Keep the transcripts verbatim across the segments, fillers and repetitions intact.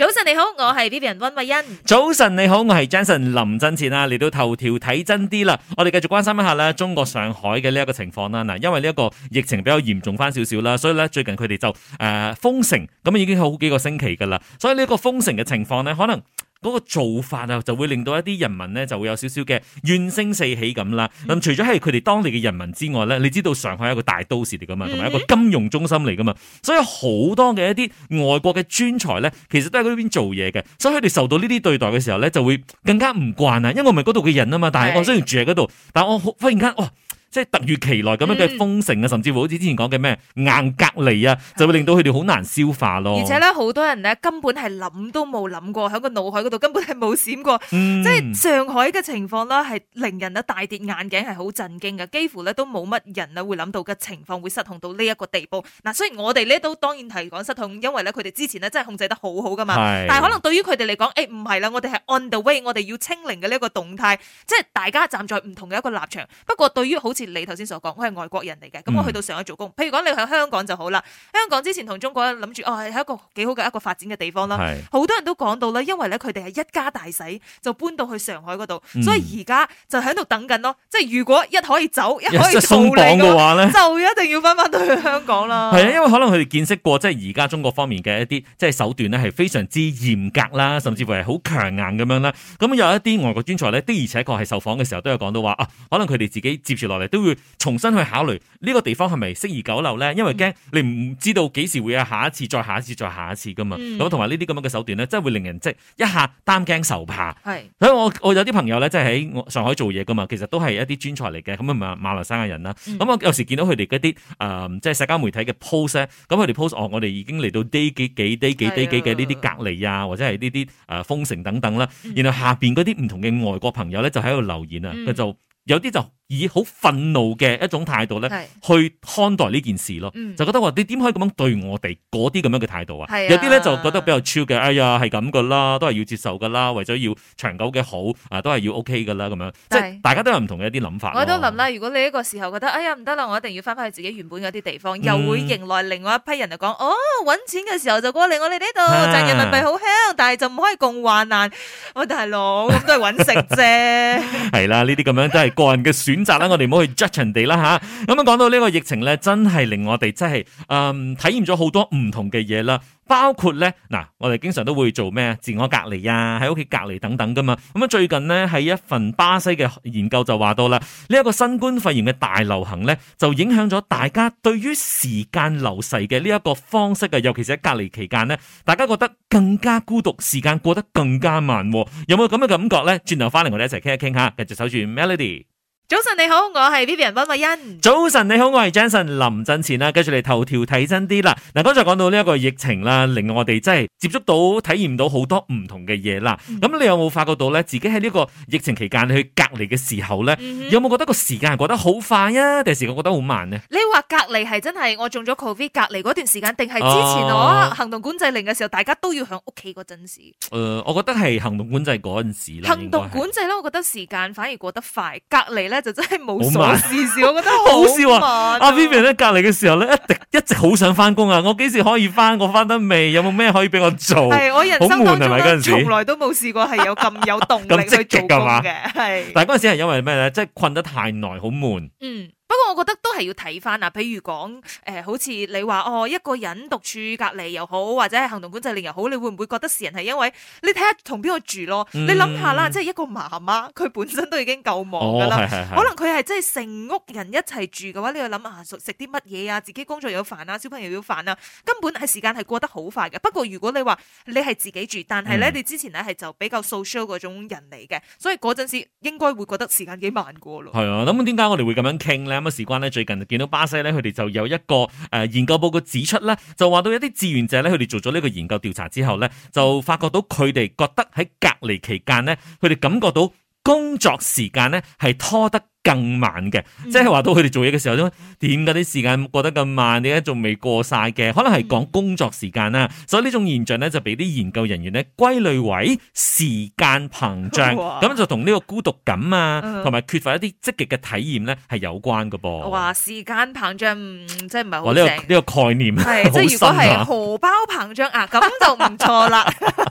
早晨你好，我係 Vivian 溫慧欣。 早晨你好，我係 Jason 林振前啊，嚟到頭條睇真啲啦。我哋繼續關心一下咧，中國上海嘅呢一個情況啦。嗱，因為呢一個疫情比較嚴重翻少少啦，所以咧最近佢哋就誒、呃、封城，咁已經好幾個星期噶啦。所以呢一個封城嘅情況咧，可能嗰個做法啊，就會令到一啲人民咧就會有少少嘅怨聲四起咁啦。咁、嗯、除咗係佢哋當地嘅人民之外咧，你知道上海係一個大都市嚟噶嘛，同埋一個金融中心嚟噶嘛，所以好多嘅一啲外國嘅專才咧，其實都喺嗰邊做嘢嘅，所以佢哋受到呢啲對待嘅時候咧，就會更加唔慣啊。因為我唔係嗰度嘅人啊嘛，但係我雖然住喺嗰度，但係我忽然間哇！即係突如其來咁樣嘅封城啊，嗯、甚至乎好似之前講嘅咩硬隔離啊，就會令到佢哋好難消化咯。 而且咧，好多人咧根本係諗都冇諗過，喺個腦海嗰度根本係冇閃過。 嗯、 即係上海嘅情況啦，係令人啊大跌眼鏡，係好震驚嘅。幾乎咧都冇乜人啊會諗到嘅情況會失控到呢一個地步。嗱，雖然我哋呢都當然係講失控，因為咧佢哋之前咧真係控制得好好噶嘛。 是但係可能對於佢哋嚟講，誒唔係啦，我哋係 on the way，我哋要清零嘅呢一個動態，即係大家站在唔同嘅一個立場。不過對於好似你頭先所講，我係外國人嚟嘅，咁我去到上海做工。譬如講你喺香港就好啦，香港之前同中國諗住哦係一個幾好嘅一個發展嘅地方啦。好是多人都講到啦，因為咧佢哋係一家大細就搬到去上海嗰度，嗯、所以而家就喺度等緊咯。即係如果一可以走，一可以鬆綁嘅話咧，就一定要翻翻到去香港啦。 係啊，因為可能佢哋見識過，即係而家中國方面嘅一啲即係手段咧，係非常之嚴格啦，甚至乎係好強硬咁樣啦。咁有一啲外國專才咧，的而且確係受訪嘅時候都有講到話啊，可能佢哋自己接住落嚟都會重新去考慮呢個地方係咪適宜久留咧？因為驚你唔知道幾時會有下一次、再下一次、再下一次噶嘛。咁同埋呢啲咁樣嘅手段咧，真係會令人即係一下擔驚受怕。係是，所以我我有啲朋友咧，即係喺上海做嘢噶嘛，其實都係一啲專才嚟嘅，咁啊馬馬來西亞人啦。咁、嗯、我有時見到佢哋嗰啲誒，即係社交媒體嘅 post 咧，咁佢哋 post 哦，我哋已經嚟到 day 幾幾 day 幾 day 幾嘅呢啲隔離啊，或者係呢啲誒封城等等啦。嗯、然後下邊嗰啲唔同嘅外國朋友咧，就喺度留言啊，佢、嗯、就有啲就以好憤怒嘅一種態度咧，去看待呢件事咯，嗯、就覺得話你點可以咁樣對我哋嗰啲咁樣嘅態度啊？有啲咧就覺得比較超嘅，哎呀係咁噶啦，都係要接受噶啦，為咗要長久嘅好啊，都係要 OK 噶啦咁樣，即係大家都有唔同嘅一啲諗法。 我都諗啦，如果你呢個時候覺得，哎呀唔得啦，我一定要翻返去自己原本嗰啲地方，嗯、又會迎來另外一批人就講，哦揾錢嘅時候就過嚟我哋呢度賺人民幣好香，但係就唔可以共患難。我大佬咁都係揾食啫。係啦，呢啲咁樣都係個人嘅選擇啦，我哋唔好去 judge 人哋啦吓。咁樣講到呢個疫情咧，真係令我哋真係誒體驗咗好多唔同嘅嘢啦。包括咧嗱，我哋經常都會做咩自我隔離啊，喺屋企隔離等等噶嘛。咁啊，最近呢，喺一份巴西嘅研究就話到啦，呢一個新冠肺炎嘅大流行咧，就影響咗大家對於時間流逝嘅呢一個方式啊，尤其是喺隔離期間呢，大家覺得更加孤獨，時間過得更加慢。有冇咁嘅感覺咧？轉頭翻嚟我哋一齊傾一傾下，繼續守住 Melody。 早晨你好，我係 Vivian 溫慧欣。 早晨你好，我係 Jason 林振前啦。跟住嚟頭條睇真啲啦。嗱，剛才講到呢一個疫情啦，令我哋真係接觸到、體驗到好多唔同嘅嘢啦。咁、嗯、你有冇發覺到咧？自己喺呢個疫情期間去隔離嘅時候咧，嗯、哼有冇覺得個時間係過得好快啊？定係時間過得好慢呢？ 你話隔離係真係我中咗 Covid 隔離嗰段時間，定係之前我行動管制令嘅時候，大家都要喺屋企嗰陣時？誒、 呃，我覺得係行動管制嗰陣時啦。 行動管制咧，我覺得時間反而過得快，隔離咧就真係冇所事事，我覺得好笑啊！阿 Vivian 咧隔離嘅時候咧，一直一直好想翻工啊！我幾時可以翻？我翻得未？有冇咩可以俾我做？ 係我人生當中咧，從來都冇試過係有咁有動力去做工嘅。係， 但係嗰陣時係因為咩咧？即係困得太耐，好悶。 嗯。不過我覺得都係要睇翻啊，譬如講誒、呃，好似你話哦，一個人獨處隔離又好，或者係行動管制令又好，你會唔會覺得時人係因為你睇下同邊個住咯？嗯、你諗下啦，即係一個媽媽，佢本身都已經夠忙噶啦，哦、是是是可能佢係即係成屋人一齊住嘅話，你要諗下食啲乜嘢啊？自己工作有煩啊，小朋友要煩啊，根本係時間係過得好快嘅。不過如果你話你係自己住，但係咧、嗯、你之前咧係就比較 social 嗰種人嚟嘅，所以嗰陣時應該會覺得時間幾慢過咯。係啊，咁點解我哋會咁樣傾咧？咁啊事關咧，最近就見到巴西咧，佢哋就有一個誒、呃、研究報告指出咧，就話到一啲志願者咧，佢哋做咗呢個研究調查之後咧，就發覺到佢哋覺得喺隔離期間咧，佢哋感覺到工作時間咧係拖得更慢嘅，即係話到佢哋做嘢嘅時候咧，點解啲時間過得咁慢？點解仲未過晒嘅？可能係講工作時間啦，所以呢種現象咧就俾啲研究人員咧歸類為時間膨脹，咁哇就同呢個孤獨感啊，同埋、嗯、缺乏一啲積極嘅體驗咧係有關㗎噃。 哇，時間膨脹，嗯，即係唔係好正？呢、這個呢、這個概念係， 即係如果係荷包膨脹啊，咁就唔錯啦。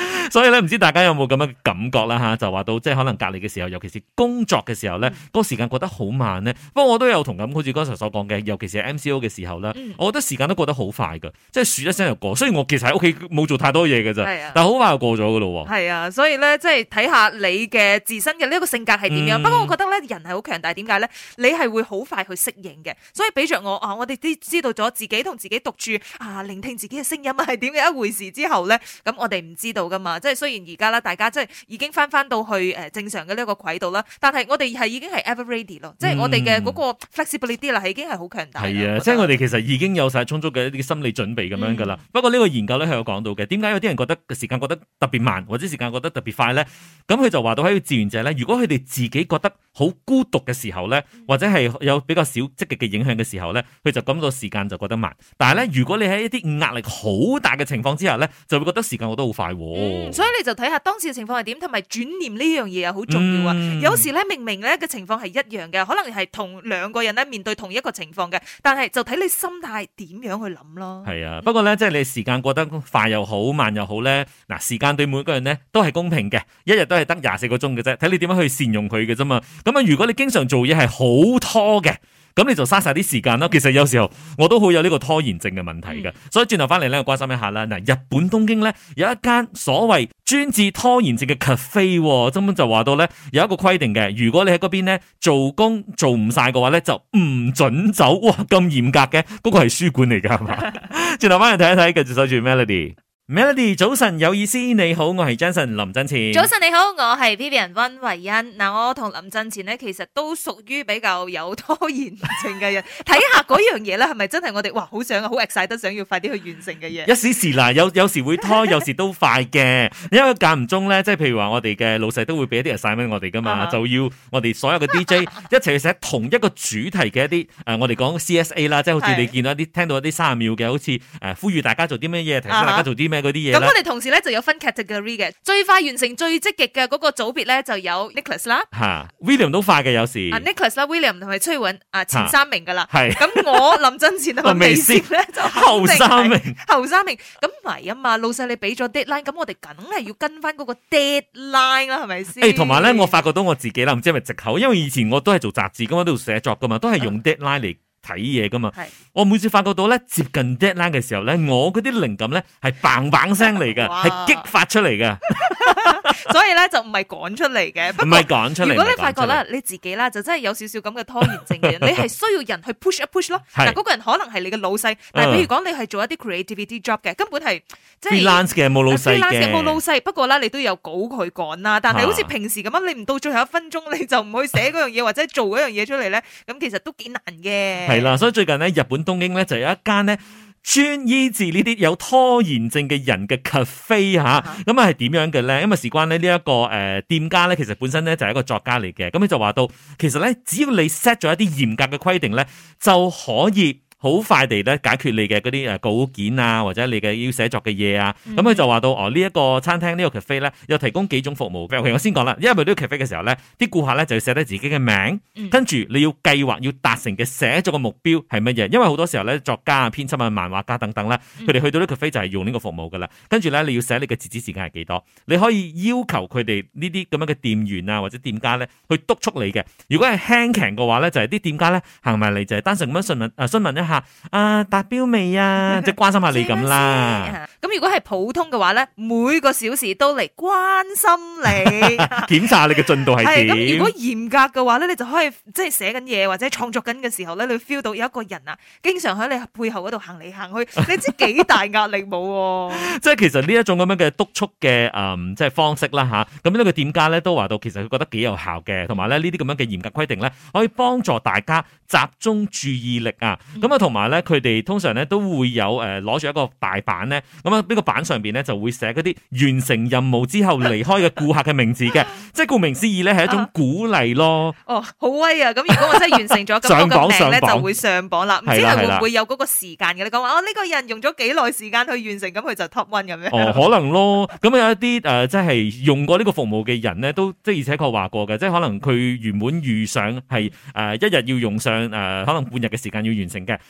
所以咧，唔知大家有冇咁嘅感覺啦吓？就話到即係可能隔離嘅時候，尤其是工作嘅時候咧，嗰、嗯、個時間過得好慢咧。不過我都有同感，好似剛才所講嘅，尤其是係 M C O 嘅時候啦，嗯、我覺得時間都過得好快噶，即係數一聲就過。雖然我其實喺屋企冇做太多嘢嘅咋，啊、但係好快就過咗噶咯。 係啊，所以咧，即係睇下你嘅自身嘅呢一個性格係點樣。嗯、不過我覺得咧，人係好強大，點解咧？你係會好快去適應嘅。所以俾着我啊，我哋都知道咗自己同自己獨處啊，聆聽自己嘅聲音係點嘅一回事之後咧，咁我哋唔知道噶嘛。即係雖然而家啦，大家即係已經翻翻到去誒正常嘅呢一個軌道啦，但係我哋係已經係 ever ready 咯，即係我哋嘅嗰個 flexibility 啦，係已經係好強大。 係啊，即係我哋其實已經有晒充足嘅一啲心理準備咁樣噶啦。嗯、不過呢個研究咧係有講到嘅，點解有啲人覺得時間過得特別慢，或者時間過得特別快咧？咁佢就話到喺個志願者咧，如果佢哋自己覺得好孤獨嘅時候咧，或者係有比較少積極嘅影響嘅時候咧，佢就感到時間就覺得慢。但係咧，如果你喺一啲壓力好大嘅情況之下咧，就會覺得時間過得好快。 嗯、所以你就睇下當時嘅情況係點，同埋轉念呢樣嘢又好重要啊。嗯、有時咧明明咧嘅情況係一樣嘅，可能係同兩個人咧面對同一個情況嘅，但係就睇你心態點樣去諗咯。係啊， 不過咧即係你時間過得快又好，慢又好咧，嗱時間對每個人咧都係公平嘅，一日都係得廿四個鐘嘅啫，睇你點樣去善用佢嘅啫嘛。咁啊，如果你經常做嘢係好拖嘅，咁你就嘥晒啲時間啦。其實有時候我都好有呢個拖延症嘅問題嘅，嗯、所以轉頭翻嚟咧，我關心一下啦。嗱，日本東京咧有一間所謂專治拖延症嘅 cafe， 根本就話到咧有一個規定嘅，如果你喺嗰邊咧做工做唔晒嘅話咧，就唔准走。哇，咁嚴格嘅，嗰、嗰個係書館嚟噶係嘛？轉頭翻嚟睇一睇，繼續守住 Melody。Melody 早晨有意思，你好，我係 Jason 林振前。 早晨你好，我係 Vivian 溫慧欣。嗱，我同林振前呢，其實都屬於比較有拖延症嘅人。睇下嗰樣嘢咧，係咪真係我哋哇好想好 excite 得想要快啲去完成嘅嘢？一時時啦，有有時會拖，有時都快嘅。因為間唔中咧，即係譬如話我哋嘅老細都會俾一啲 assignment 我哋噶嘛，就要我哋所有嘅 D J 一齊去寫同一個主題嘅一啲誒、呃，我哋講 C S A 啦，即係好似你見到一啲聽到一啲三十秒嘅，好似誒呼籲大家做啲咩嘢，提醒大家做啲咩。咁我哋同時咧就有分 category 嘅，最快完成最積極嘅嗰個組別咧就有 Nicholas 啦， 吓 William 都快嘅有時， 啊 Nicholas 啦 William 同埋崔允啊前三名噶啦， 係咁我林振前同埋微笑咧就後三名， 後三名咁唔係啊嘛，老細你俾咗 deadline，咁我哋梗係要跟翻嗰個 deadline 啦，係咪先？ 誒，同埋咧我發覺到我自己啦，唔知係咪藉口，因為以前我都係做雜誌咁，我都要寫作噶嘛，都係用 deadline 嚟睇嘢噶嘛，我每次發覺到咧接近 deadline 嘅時候咧，我嗰啲靈感咧係棒棒聲嚟嘅，係激發出嚟嘅， 所以咧就唔係趕出嚟嘅， 唔係趕出嚟。 如果你發覺咧你自己啦，就真係有少少咁嘅拖延症嘅人，你係需要人去 push 一 push 咯。嗱，嗰個人可能係你嘅老細，但係譬如講你係做一啲 creativity job 嘅，根本係即係 freelance 嘅冇老細嘅， 冇老細。不過咧你都有稿佢趕啦，但係好似平時咁樣，你唔到最後一分鐘你就唔去寫嗰樣嘢或者做嗰樣嘢出嚟咧，咁其實都幾難嘅。 係啦，所以最近咧，日本東京咧就有一間咧專醫治呢啲有拖延症嘅人嘅 cafe 吓，咁啊係點樣嘅咧？因為事關咧呢一個誒、呃、店家咧，其實本身咧就係一個作家嚟嘅，咁佢就話到，其實咧只要你 set 咗一啲嚴格嘅規定咧，就可以好快地咧解決你嘅嗰啲誒稿件啊，或者你嘅要寫作嘅嘢啊，咁佢、嗯、就話到哦呢一、這個餐廳呢、這個 cafe 咧，又提供幾種服務。譬如我先講啦，因為呢個 cafe 嘅時候咧，啲顧客咧就要寫低自己嘅名，嗯、跟住你要計劃要達成嘅寫作嘅目標係乜嘢？因為好多時候咧，作家啊、編輯啊、漫畫家等等咧，佢哋、嗯、去到呢個 cafe 就係用呢個服務噶啦。跟住咧，你要寫你嘅截止時間係幾多？你可以要求佢哋呢啲咁樣嘅店員啊或者店家咧去督促你嘅。如果係輕強嘅話咧，就係、是、啲店家咧行埋嚟就係單純咁樣詢問誒詢問一下啊。達標未啊？即係關心下你咁啦。 咁如果係普通嘅話咧，每個小時都嚟關心你， 檢查你嘅進度係點。 咁如果嚴格嘅話咧，你就可以即係寫緊嘢或者創作緊嘅時候咧，你 feel 到有一個人啊，經常喺你背後嗰度行嚟行去，你知幾大壓力冇？即係其實呢一種咁樣嘅督促嘅誒，即係方式啦吓。咁呢個店家咧都話到，其實佢覺得幾有效嘅，同埋咧呢啲咁樣嘅嚴格規定咧，可以幫助大家集中注意力啊。咁啊，同埋咧佢哋。通常咧都會有誒攞住一個大板咧，咁啊呢個板上邊咧就會寫嗰啲完成任務之後離開嘅顧客嘅名字嘅，即係顧名思義咧係一種鼓勵咯。 哦，好威啊！咁如果我真係完成咗，咁個名咧就會上榜啦。唔知係會唔會有嗰個時間嘅？你講話哦，呢個人用咗幾耐時間去完成，咁佢就 top one 咁樣。 哦，可能咯。咁有一啲誒，即係用過呢個服務嘅人咧，都即係而且確話過嘅，即係可能佢原本預想係誒一日要用上誒可能半日嘅時間要完成嘅，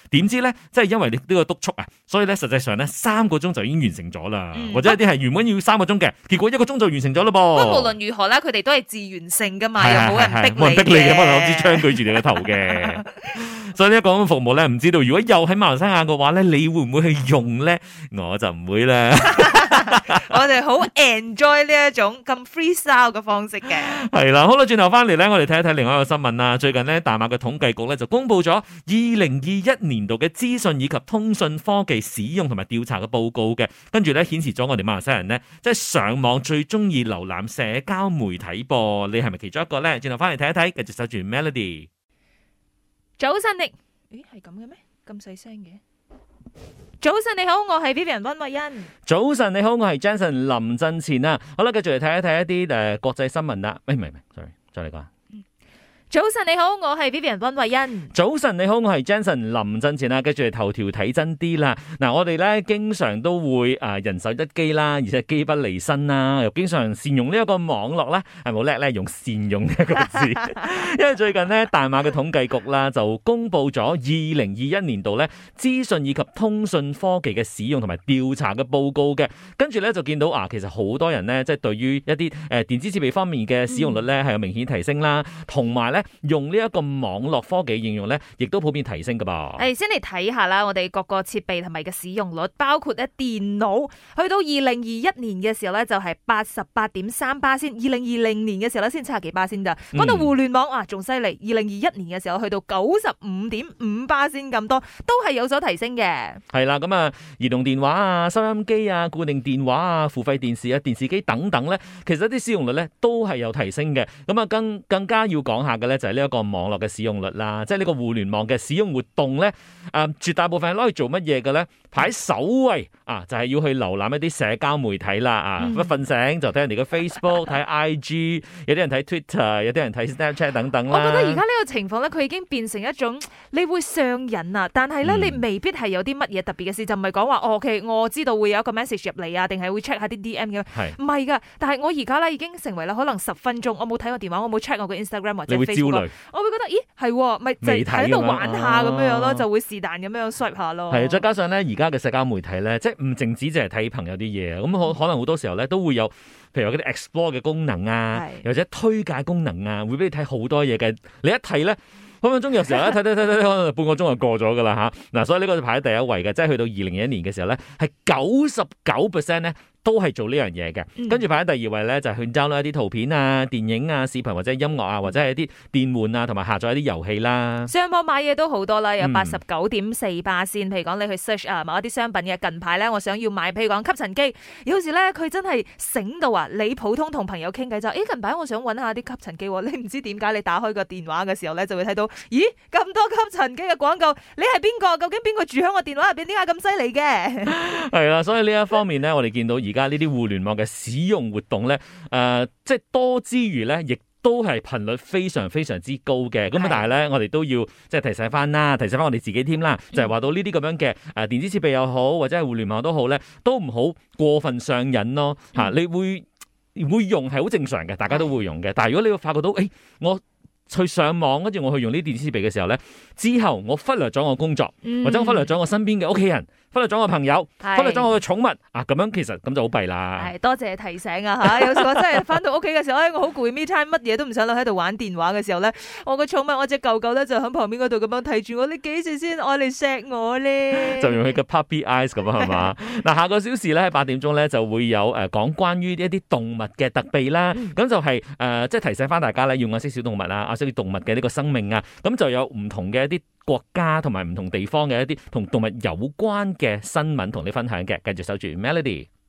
點知咧，即係因為你呢個督促啊，所以咧實際上咧三個鐘就已經完成咗啦， 嗯、 或者一啲係原本要三個鐘嘅，結果一個鐘就完成咗咯噃。 不過無論如何咧，佢哋都係自願性噶嘛，又冇人逼你嘅， 冇人逼你嘅，可能攞支槍舉住你個頭嘅。所以呢一個咁嘅服務咧，唔知道如果又喺馬來西亞嘅話咧，你會唔會去用咧？我就唔會啦。 我哋好 enjoy 呢一種咁 freestyle 嘅方式嘅。 係啦，好啦，轉頭翻嚟咧，我哋睇一睇另外一個新聞啦。最近呢，大馬嘅統計局咧就公布咗二零二一年度嘅資訊以及通訊科技使用同埋調查嘅報告嘅，跟住咧顯示咗我哋馬來西亞人呢，即係上網最中意瀏覽社交媒體噃。你係咪其中一個咧？轉頭翻嚟睇一睇，繼續守住 Melody。 早晨你，咦係咁嘅咩？咁細聲嘅。早晨你好，我係 Vivian 溫慧欣。 早晨你好，我係 Jensen 林振前啊。好啦，繼續嚟睇一睇一啲誒國際新聞啦。誒唔係唔係，sorry，再嚟講。 早晨你好，我係 Vivian 溫慧欣。早晨你好，我係 Jensen 林振前啦。跟住嚟頭條睇真啲啦。嗱，我哋咧經常都會誒人手一機啦，而且機不離身啦，又經常善用呢一個網絡啦，係冇叻咧用善用呢一個字。因為最近呢，大馬嘅統計局啦就公布咗二零二一年度咧資訊以及通訊科技嘅使用同埋調查嘅報告嘅，跟住咧就見到啊，其實好多人咧即係對於一啲誒電子設備方面嘅使用率咧係有明顯提升啦，同埋咧。用呢一個網絡科技應用咧，亦都普遍提升噶噃。 係先嚟睇下啦，我哋各個設備同埋嘅使用率，包括咧電腦，去到二零二一年嘅時候咧就係八十八點三巴仙，二零二零年嘅時候咧先七十幾巴仙咋。講到互聯網啊，仲犀利，二零二一年嘅時候去到九十五點五巴仙咁多，都係有所提升嘅。係啦，咁啊，移動電話啊、收音機啊、固定電話啊、付費電視啊、電視機等等咧，其實啲使用率咧都係有提升嘅。咁啊，更更加要講下嘅咧就係呢一個網絡嘅使用率啦，即係呢個互聯網嘅使用活動咧，誒、呃，絕大部分係攞嚟做乜嘢嘅咧？排首位啊，就係、是、要去瀏覽一啲社交媒體啦，啊，一瞓、嗯、醒就睇人哋嘅 Facebook， 睇 I G， 有啲人睇 Twitter， 有啲人睇 Snapchat 等等啦。 我覺得而家呢個情況咧，佢已經變成一種你會上癮啊，但係咧、嗯、你未必係有啲乜嘢特別嘅事，就唔係講話哦 ，OK， 我知道會有一個 message 入嚟啊，定係會 check 下啲 D M 嘅，唔係噶。但係我而家咧已經成為啦，可能十分鐘我冇睇我電話，我冇 check 我嘅 Instagram 或者 Facebook， 我會覺得咦係，咪就喺度玩下咁樣樣咯，啊、就會是但咁樣 swipe 下咯。係， 再加上咧而家嘅社交媒體咧，即係唔淨止淨係睇朋友啲嘢，咁可可能好多時候咧都會有，譬如嗰啲 explore 嘅功能啊，是或者推介功能啊，會俾你睇好多嘢嘅。你一睇咧，分分鐘有時候咧睇睇睇睇，可能半個鐘就過咗噶啦吓。嗱，所以呢個就排喺第一位嘅，即係去到二零二一年嘅時候咧，係九十九 percent 咧。都係做呢樣嘢嘅，跟住排喺第二位咧，就係去 download 一啲圖片啊、電影啊、視頻或者音樂啊，或者係一啲電玩啊，同埋下載一啲遊戲啦。 上網買嘢都好多啦，有八十九點四巴仙。譬如講你去 search 啊某一啲商品嘅，近排咧我想要買，譬如講吸塵機，有時咧佢真係醒到啊！你普通同朋友傾偈就，誒近排我想揾下啲吸塵機，你唔知點解你打開個電話嘅時候咧就會睇到，咦咁多吸塵機嘅廣告，你係邊個？究竟邊個住喺我電話入邊？點解咁犀利嘅？係啦，所以呢一方面咧，我哋見到而家呢啲互聯網嘅使用活動咧，誒、呃，即係多之餘咧，亦都係頻率非常非常之高嘅。咁啊，但係咧，我哋都要即係提醒翻啦，提醒翻我哋自己添啦，就係、是、話到呢啲咁樣嘅誒電子設備又好，或者係互聯網都好咧，都唔好過分上癮咯。吓、嗯，你會會用係好正常嘅，大家都會用嘅。但係如果你會發覺到，誒、欸，我去上網，跟住我去用呢啲電子設備嘅時候咧，之後我忽略咗我工作，嗯、或者我忽略咗我身邊嘅屋企人。忽略咗我朋友，是忽略咗我嘅寵物啊！咁樣其實咁就好弊啦。係多謝提醒啊吓！有時我真係翻到屋企嘅時候，我好攰，me time 乜嘢都唔想諗，喺度玩電話嘅時候咧，我個寵物我隻狗狗咧就喺旁邊嗰度咁樣睇住我，你幾時先愛嚟錫我咧？就用佢嘅 puppy eyes 咁啊，係嘛？嗱，下個小時咧喺八點鐘咧就會有誒講關於一啲動物嘅特備啦。咁、嗯、就係、是、誒、呃、即係提醒翻大家咧，要愛惜小動物啊，愛惜動物嘅呢個生命啊。咁就有唔同嘅一啲國家同埋唔同地方嘅一啲同動物有關嘅新聞同你分享嘅，繼續守住 Melody。